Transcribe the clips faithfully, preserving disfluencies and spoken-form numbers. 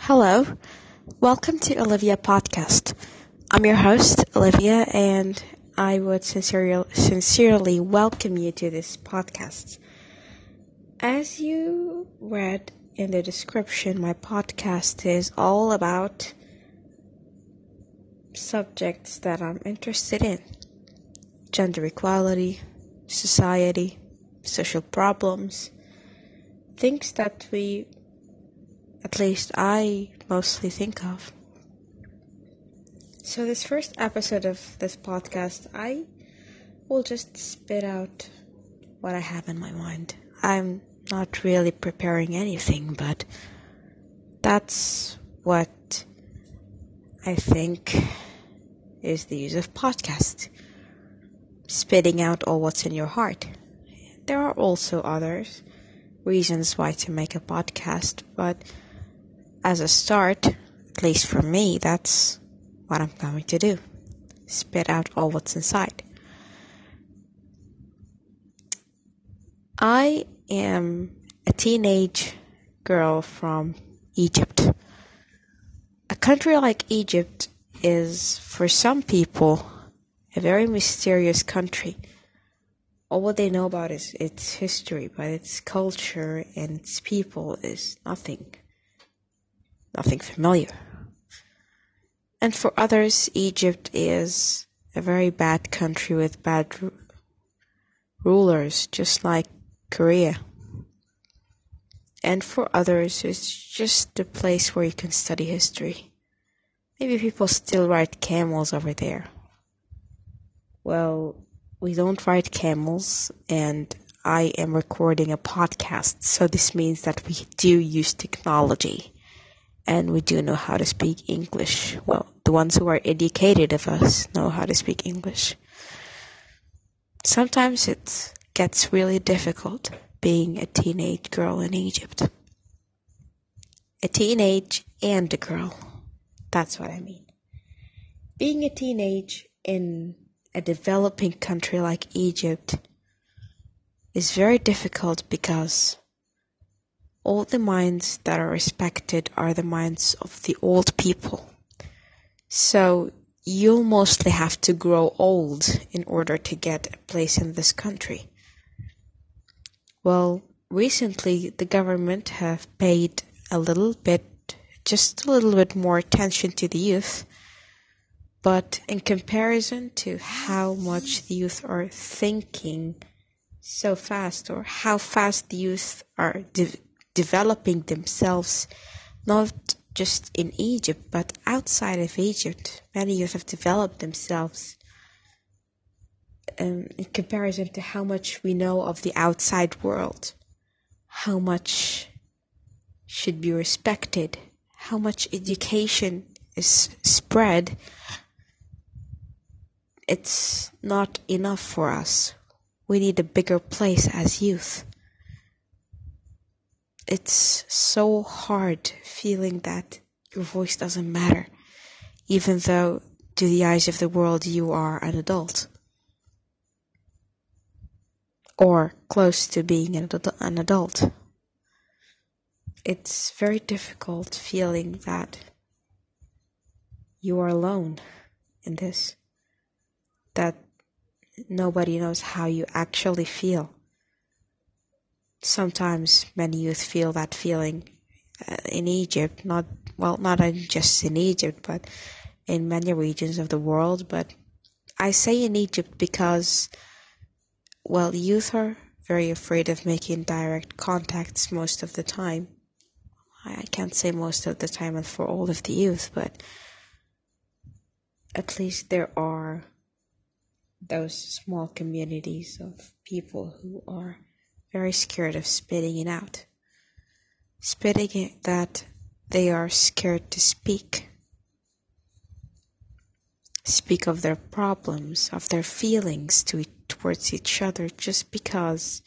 Hello, welcome to Olivia Podcast. I'm your host, Olivia, and I would sincerely, sincerely welcome you to this podcast. As you read in the description, my podcast is all about subjects that I'm interested in. Gender equality, society, social problems, things that we At least I mostly think of. So this first episode of this podcast, I will just spit out what I have in my mind. I'm not really preparing anything, but that's what I think is the use of podcast. Spitting out all what's in your heart. There are also others reasons why to make a podcast, but as a start, at least for me, that's what I'm going to do. Spit out all what's inside. I am a teenage girl from Egypt. A country like Egypt is, for some people, a very mysterious country. All what they know about is its history, but its culture and its people is nothing. Nothing familiar. And for others, Egypt is a very bad country with bad ru- rulers, just like Korea. And for others, it's just a place where you can study history. Maybe people still ride camels over there. Well, we don't ride camels, and I am recording a podcast, so this means that we do use technology. And we do know how to speak English. Well, the ones who are educated of us know how to speak English. Sometimes it gets really difficult being a teenage girl in Egypt. A teenage and a girl. That's what I mean. Being a teenage in a developing country like Egypt is very difficult because all the minds that are respected are the minds of the old people. So you'll mostly have to grow old in order to get a place in this country. Well, recently the government have paid a little bit, just a little bit more attention to the youth. But in comparison to how much the youth are thinking so fast, or how fast the youth are de- developing themselves, not just in Egypt, but outside of Egypt. Many youth have developed themselves um, in comparison to how much we know of the outside world, how much should be respected, how much education is spread. It's not enough for us. We need a bigger place as youth. It's so hard feeling that your voice doesn't matter, even though to the eyes of the world you are an adult. Or close to being an an adult. It's very difficult feeling that you are alone in this. That nobody knows how you actually feel. Sometimes many youth feel that feeling uh, in Egypt, not, well, not just in Egypt, but in many regions of the world. But I say in Egypt because, well, youth are very afraid of making direct contacts most of the time. I can't say most of the time and for all of the youth, but at least there are those small communities of people who are very scared of spitting it out. Spitting it that they are scared to speak. Speak of their problems, of their feelings to towards each other, just because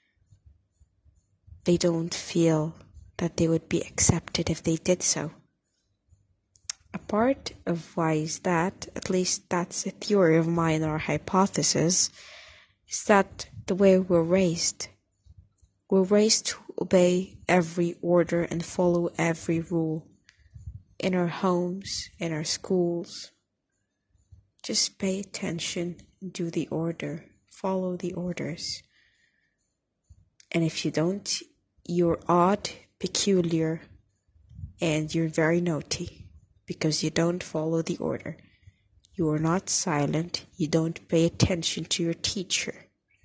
they don't feel that they would be accepted if they did so. A part of why is that, at least that's a theory of mine or hypothesis, is that the way we're raised. We're raised to obey every order and follow every rule. in our homes, in our schools. Just pay attention, do the order, follow the orders. And if you don't, you're odd, peculiar, and you're very naughty because you don't follow the order. You are not silent, you don't pay attention to your teacher.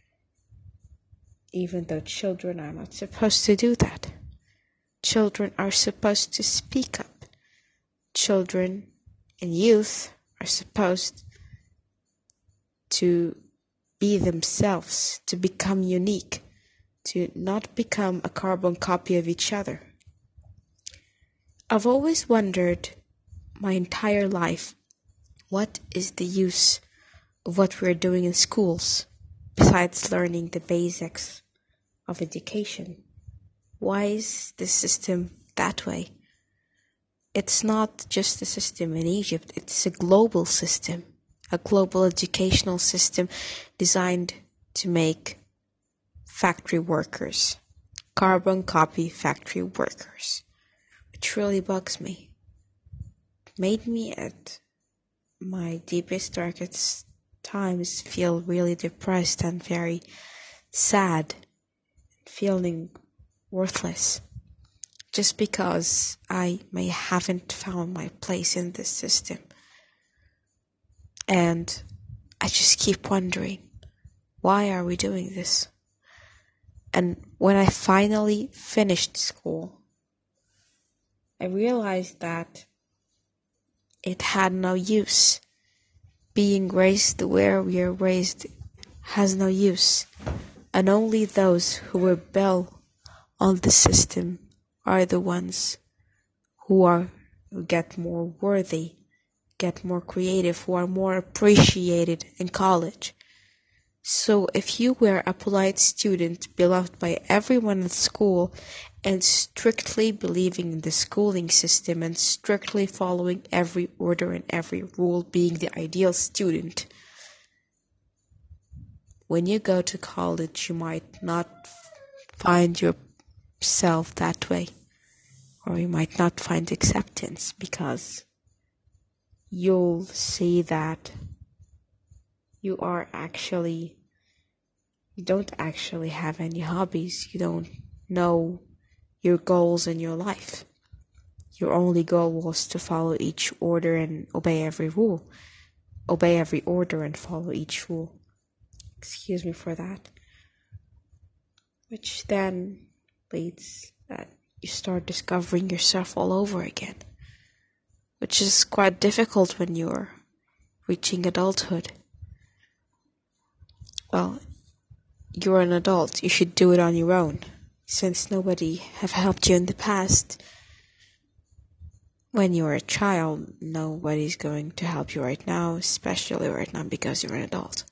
Even though children are not supposed to do that. Children are supposed to speak up. Children and youth are supposed to be themselves, to become unique, to not become a carbon copy of each other. I've always wondered my entire life, what is the use of what we're doing in schools besides learning the basics of education? Why is the system that way? It's not just a system in Egypt, it's a global system, a global educational system designed to make factory workers, carbon copy factory workers, which really bugs me. It made me at my deepest, darkest times feel really depressed and very sad, feeling worthless, just because I may haven't found my place in this system. And I just keep wondering, why are we doing this? And when I finally finished school, I realized that it had no use. Being raised where we are raised has no use, and only those who rebel on the system are the ones who are who get more worthy, get more creative, who are more appreciated in college. So if you were a polite student beloved by everyone at school and strictly believing in the schooling system and strictly following every order and every rule, being the ideal student, when you go to college, you might not find yourself that way, or you might not find acceptance, because you'll see that you are actually, you don't actually have any hobbies. You don't know your goals in your life. Your only goal was to follow each order and obey every rule. Obey every order and follow each rule. Excuse me for that. Which then leads that you start discovering yourself all over again. Which is quite difficult when you're reaching adulthood. Well, you're an adult, you should do it on your own, since nobody have helped you in the past. When you're a child, nobody's going to help you right now, especially right now because you're an adult.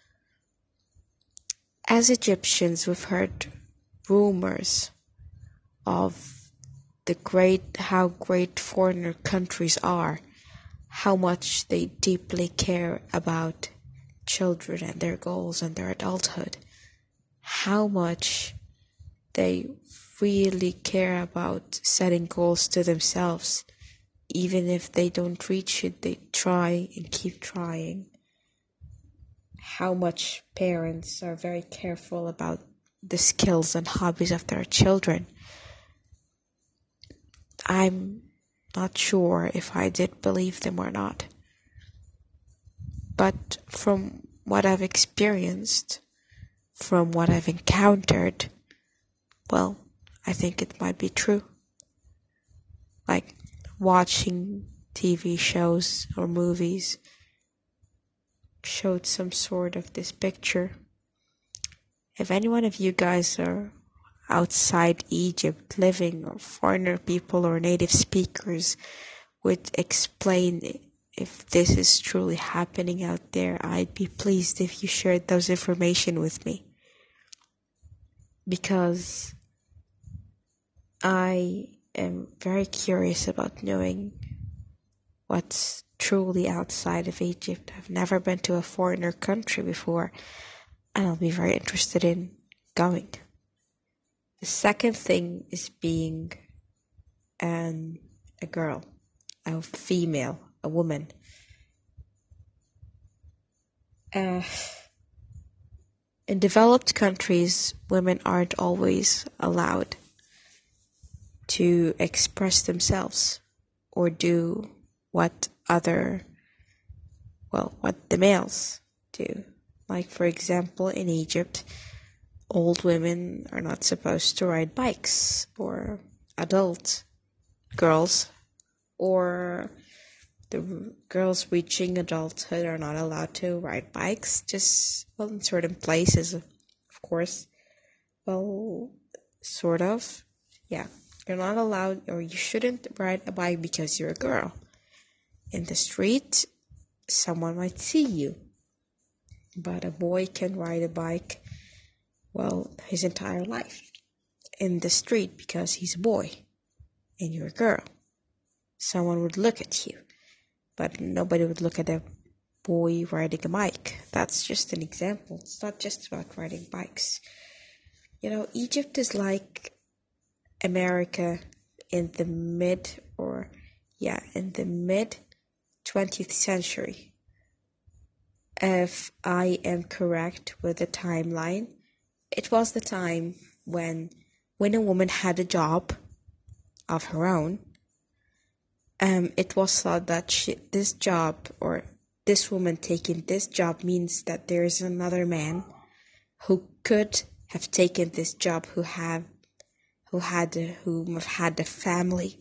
As Egyptians, we've heard rumors of the great, how great foreigner countries are, how much they deeply care about children and their goals and their adulthood, how much they really care about setting goals to themselves. Even if they don't reach it, they try and keep trying. How much parents are very careful about the skills and hobbies of their children. I'm not sure if I did believe them or not. But from what I've experienced, from what I've encountered, well, I think it might be true. Like watching T V shows or movies showed some sort of this picture. If any one of you guys are outside Egypt living, or foreigner people or native speakers would explain if this is truly happening out there, I'd be pleased if you shared those information with me. Because I am very curious about knowing what's truly outside of Egypt. I've never been to a foreigner country before, and I'll be very interested in going. The second thing is being an, a girl, a female, a woman. Uh, in developed countries, women aren't always allowed to express themselves or do what other, well, what the males do. Like, for example, in Egypt, old women are not supposed to ride bikes, or adult girls, or the girls reaching adulthood are not allowed to ride bikes, just, well, in certain places, of course. Well, sort of, yeah. You're not allowed, or you shouldn't ride a bike because you're a girl. In the street, someone might see you. But a boy can ride a bike, well, his entire life in the street because he's a boy and you're a girl. Someone would look at you, but nobody would look at a boy riding a bike. That's just an example. It's not just about riding bikes. You know, Egypt is like America in the mid or yeah in the mid twentieth century, if I am correct with the timeline. It was the time when when a woman had a job of her own. Um, it was thought that she, this job or this woman taking this job means that there is another man who could have taken this job, who have who had who have had a family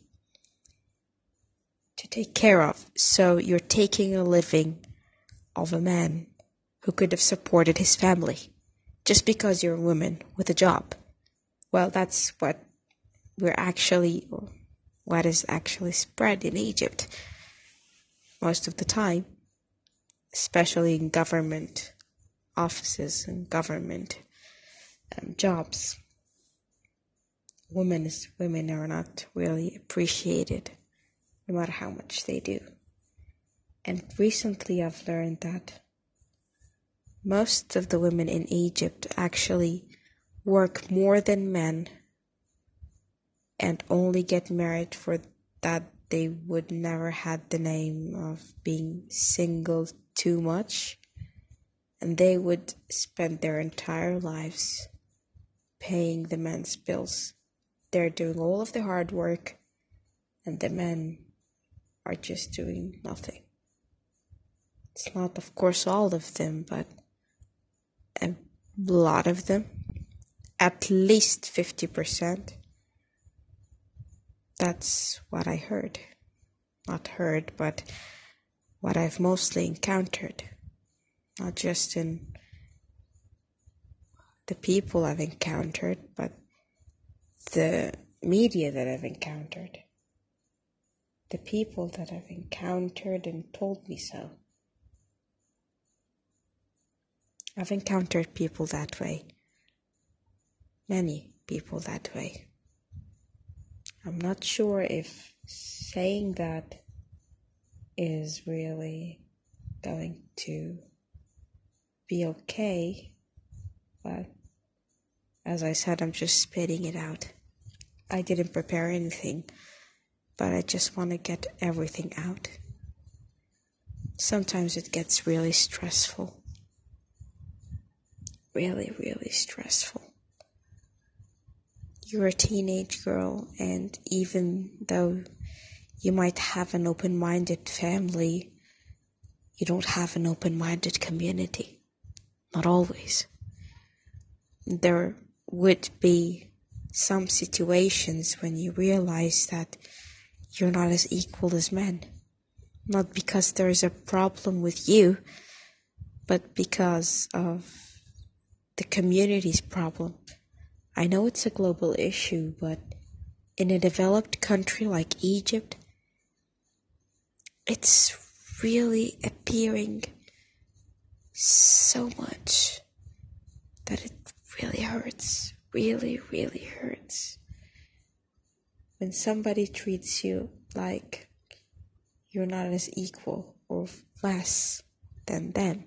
to take care of. So you're taking a living of a man who could have supported his family just because you're a woman with a job. Well, that's what we're actually, or what is actually spread in Egypt most of the time, especially in government offices and government um, jobs. Women, is, women are not really appreciated, no matter how much they do. And recently I've learned that most of the women in Egypt actually work more than men and only get married for that they would never had the name of being single too much, and they would spend their entire lives paying the men's bills. They're doing all of the hard work and the men are just doing nothing. It's not, of course, all of them, but a lot of them, at least fifty percent. That's what I heard. Not heard, but what I've mostly encountered. Not just in the people I've encountered, but the media that I've encountered. The people that I've encountered and told me so. I've encountered people that way. Many people that way. I'm not sure if saying that is really going to be okay, but as I said, I'm just spitting it out. I didn't prepare anything, but I just want to get everything out. Sometimes it gets really stressful. Really, really stressful. You're a teenage girl, and even though you might have an open-minded family, you don't have an open-minded community. Not always. There would be some situations when you realize that you're not as equal as men. Not because there's a problem with you, but because of the community's problem. I know it's a global issue, but in a developed country like Egypt, it's really appearing so much that it really hurts. Really, really hurts. When somebody treats you like you're not as equal or less than them,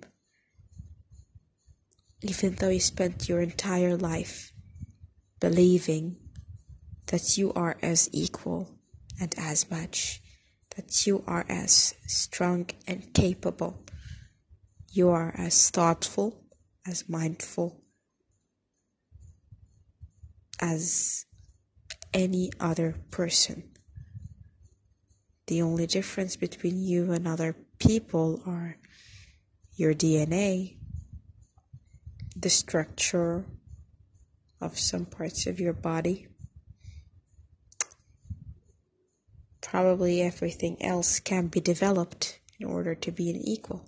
even though you spent your entire life believing that you are as equal and as much, that you are as strong and capable. You are as thoughtful, as mindful as any other person. The only difference between you and other people are your D N A, the structure of some parts of your body. Probably everything else can be developed in order to be an equal.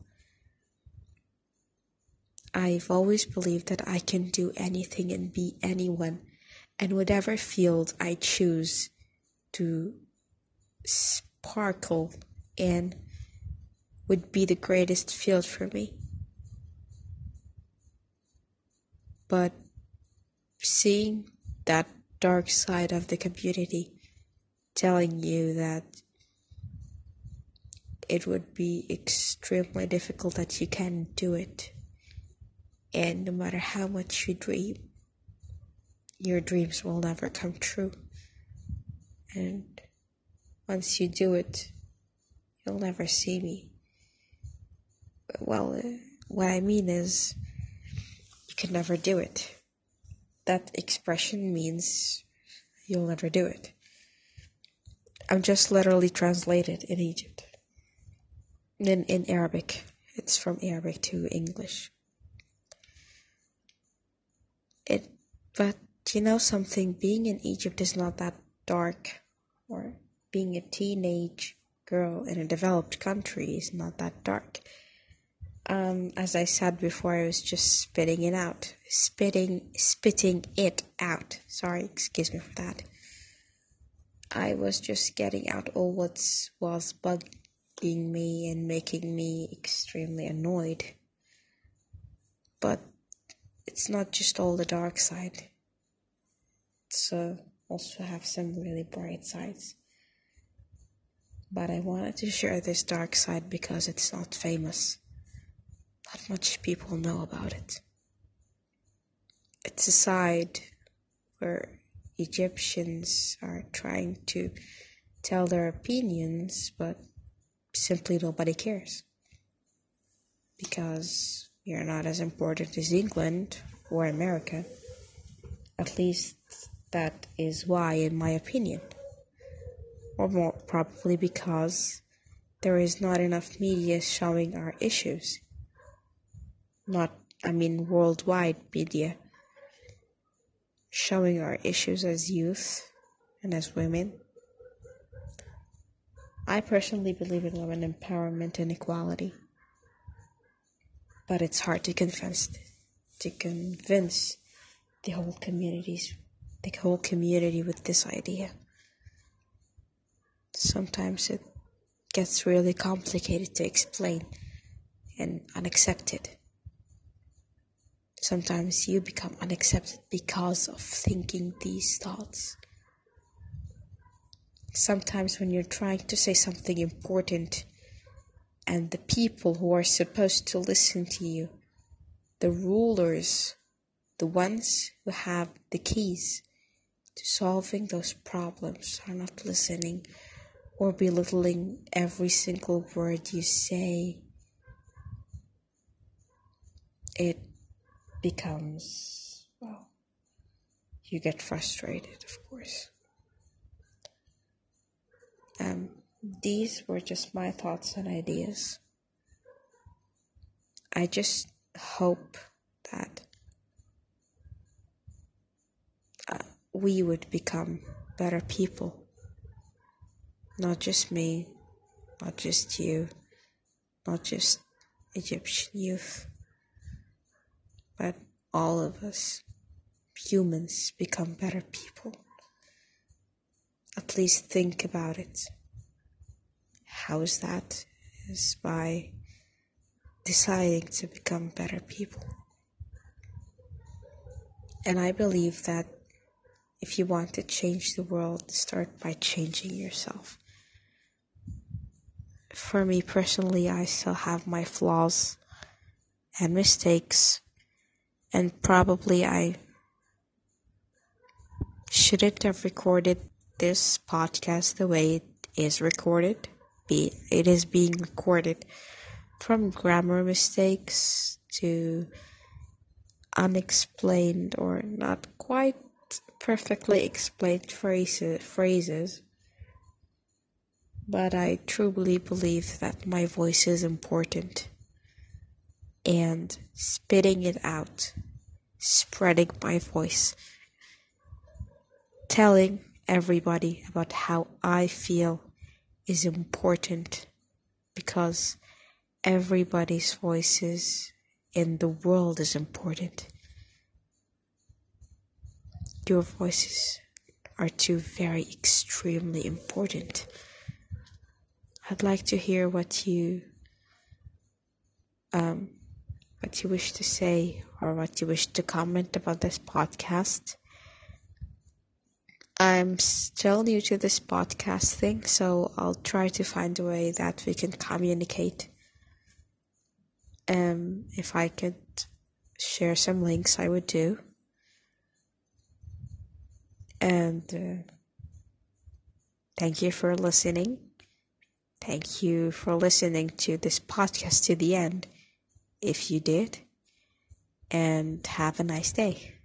I've always believed that I can do anything and be anyone, and whatever field I choose to sparkle in would be the greatest field for me. But seeing that dark side of the community telling you that it would be extremely difficult, that you can't do it, and no matter how much you dream, your dreams will never come true. And once you do it, you'll never see me. Well, uh, what I mean is, you can never do it. That expression means you'll never do it. I'm just literally translated in Egypt. In, in Arabic. It's from Arabic to English. It, but you know something, being in Egypt is not that dark, or being a teenage girl in a developed country is not that dark. Um, as I said before, I was just spitting it out. Spitting, spitting it out. Sorry, excuse me for that. I was just getting out all what was bugging me and making me extremely annoyed. But it's not just all the dark side. It's uh, also have some really bright sides. But I wanted to share this dark side because it's not famous. Not much people know about it. It's a side where Egyptians are trying to tell their opinions, but simply nobody cares. Because we are not as important as England or America. At least that is why, in my opinion. Or more probably because there is not enough media showing our issues. Not, I mean, worldwide media showing our issues as youth and as women. I personally believe in women empowerment and equality, but it's hard to convince to convince the whole communities, the whole community with this idea. Sometimes it gets really complicated to explain and unaccepted. Sometimes you become unaccepted because of thinking these thoughts. Sometimes when you're trying to say something important and the people who are supposed to listen to you, the rulers, the ones who have the keys to solving those problems, are not listening or belittling every single word you say, it becomes, well, you get frustrated, of course. Um, these were just my thoughts and ideas. I just hope that uh, we would become better people. Not just me, not just you, not just Egyptian youth, but all of us, humans, become better people. At least think about it. How is that? Is by deciding to become better people. And I believe that if you want to change the world, start by changing yourself. For me personally, I still have my flaws and mistakes, and probably I shouldn't have recorded this podcast the way it is recorded, be it is being recorded, from grammar mistakes to unexplained or not quite perfectly explained phrases phrases. But I truly believe that my voice is important, and spitting it out, spreading my voice, telling everybody about how I feel is important, because everybody's voices in the world is important. Your voices are too very extremely important. I'd like to hear what you um what you wish to say or what you wish to comment about this podcast. I'm still new to this podcast thing, so I'll try to find a way that we can communicate. Um, if I could share some links, I would do. And uh, thank you for listening. Thank you for listening to this podcast to the end, if you did. And have a nice day.